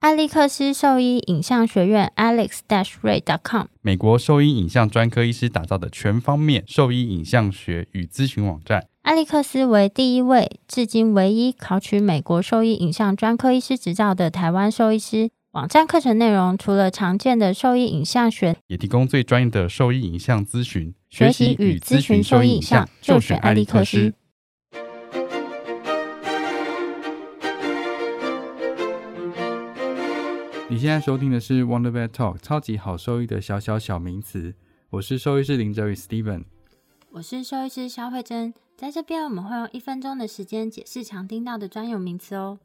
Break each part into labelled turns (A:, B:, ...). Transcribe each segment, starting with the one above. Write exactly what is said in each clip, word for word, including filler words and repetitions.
A: 艾利克斯兽医影像学院 alex ray dot com
B: 美国兽医影像专科医师打造的全方面兽医影像学与咨询网站。
A: 艾利克斯为第一位至今唯一考取美国兽医影像专科医师执照的台湾兽医师。网站课程内容除了常见的兽医影像学，
B: 也提供最专业的兽医影像咨询。
A: 学习与咨询兽医影像就选艾利克斯。
B: 你现在收听的是 Wonder Vet Talk 超级好兽医的小小小名词，我是兽医师林哲宇 Steven，
A: 我是兽医师肖慧珍。在这边我们会用一分钟的时间解释常听到的专有名词哦。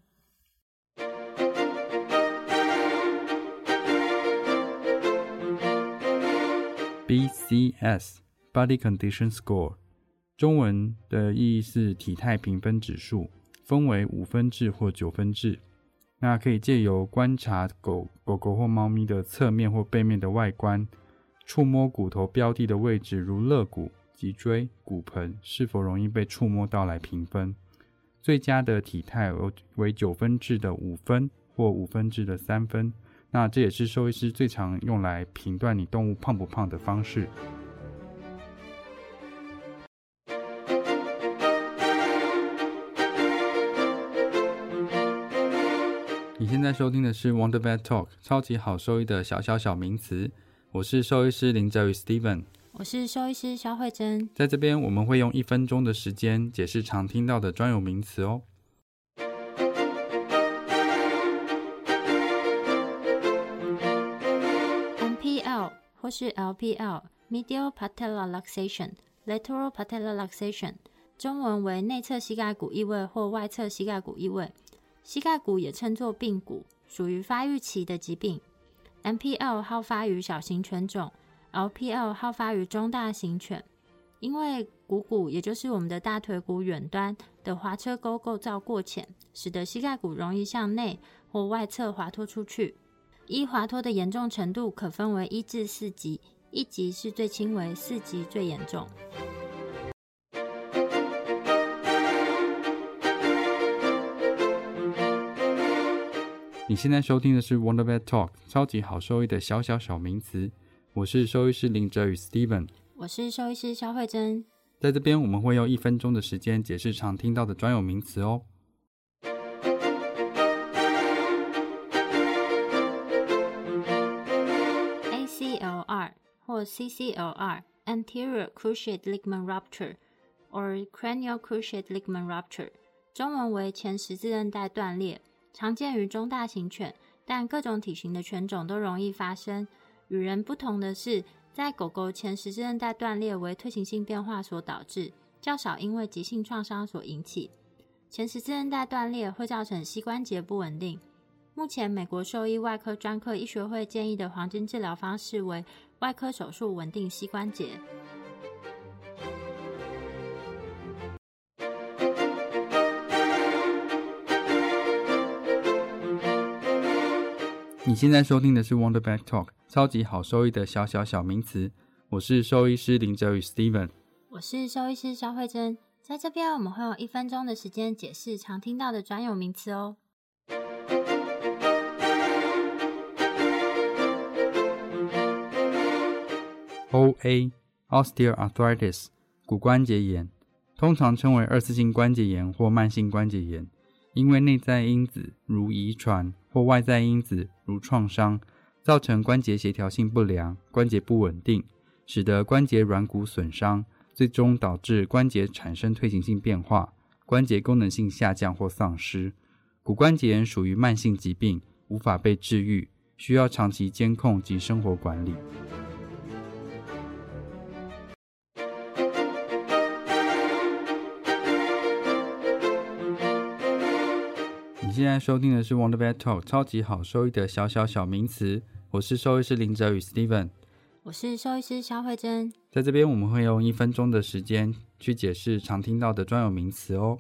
B: B C S Body Condition Score 中文的意义是体态评分指数，分为五分制或九分制。那可以借由观察狗狗狗或猫咪的侧面或背面的外观，触摸骨头标的的位置，如肋骨、脊椎、骨盆是否容易被触摸到来评分。最佳的体态为九分制的五分或五分制的三分。那这也是兽医师最常用来评断你动物胖不胖的方式。你现在收听的是 Wonder Vet Talk 超级好兽医的小小小名词，我是兽医师林哲宇 Steven，
A: 我是兽医师肖慧珍。
B: 在这边我们会用一分钟的时间解释常听到的专有名词哦。
A: M P L 或是 L P L Medial Patellar Luxation Lateral Patellar Luxation 中文为内侧膝盖骨异位或外侧膝盖骨异位。膝盖骨也称作髌骨，属于发育期的疾病。M P L 好发于小型犬种， L P L 好发于中大型犬。因为股骨也就是我们的大腿骨远端的滑车沟构造过浅，使得膝盖骨容易向内或外侧滑脱出去。依滑脱的严重程度可分为一至四级，一级是最轻微，四级最严重。
B: 你现在收听的是 Wonder Vet Talk 超级好兽医的小小小名词，我是兽医师林哲宇 Steven，
A: 我是兽医师肖慧珍。
B: 在这边我们会用一分钟的时间解释常听到的专有名词哦。
A: A C L R 或 C C L R Anterior Cruciate Ligament Rupture or Cranial Cruciate Ligament Rupture 中文为前十字韧带断裂，常见于中大型犬，但各种体型的犬种都容易发生。与人不同的是，在狗狗前十字韧带断裂为退行性变化所导致，较少因为急性创伤所引起。前十字韧带断裂会造成膝关节不稳定。目前美国兽医外科专科医学会建议的黄金治疗方式为外科手术稳定膝关节。
B: 你现在收听的是 Wonder Vet Talk 超级好兽医的小小小名词，我是兽医师林哲宇 Steven，
A: 我是兽医师肖慧珍。在这边我们会用一分钟的时间解释常听到的专有名词哦。
B: O A Osteoarthritis 骨关节炎，通常称为二次性关节炎或慢性关节炎，因为内在因子如遗传或外在因子如创伤，造成关节协调性不良，关节不稳定，使得关节软骨损伤，最终导致关节产生退行性变化，关节功能性下降或丧失。骨关节炎属于慢性疾病，无法被治愈，需要长期监控及生活管理。你现在收听的是 Wonder Vet Talk 超级好兽医的小小小名词，我是兽医师林哲宇 Steven，
A: 我是兽医师肖慧珍。
B: 在这边我们会用一分钟的时间去解释常听到的专有名词哦。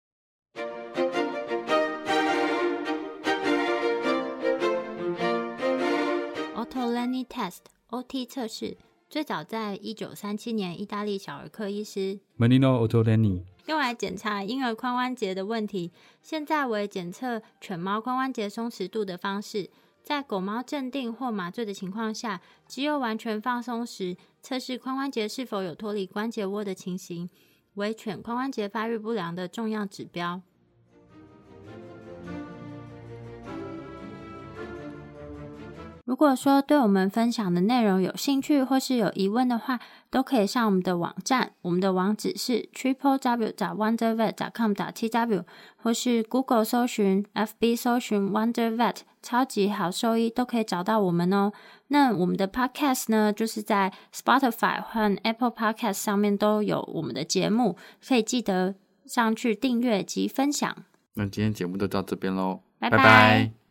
A: Ottolini Test O T 测试最早在一九三七年意大利小儿科医师
B: Marino Ottolini
A: 用来检查婴儿髋关节的问题，现在为检测犬猫髋关节松弛度的方式。在狗猫镇定或麻醉的情况下，只有完全放松时，测试髋关节是否有脱离关节窝的情形，为犬髋关节发育不良的重要指标。如果说对我们分享的内容有兴趣或是有疑问的话，都可以上我们的网站，我们的网址是 triple w 点 wondervet 点 com 点 t w， 或是 Google 搜寻 F B 搜寻 Wondervet 超级好兽医都可以找到我们哦。那我们的 Podcast 呢，就是在 Spotify 和 Apple Podcast 上面都有我们的节目，可以记得上去订阅及分享。
B: 那今天节目就到这边咯，
A: 拜
B: 拜拜。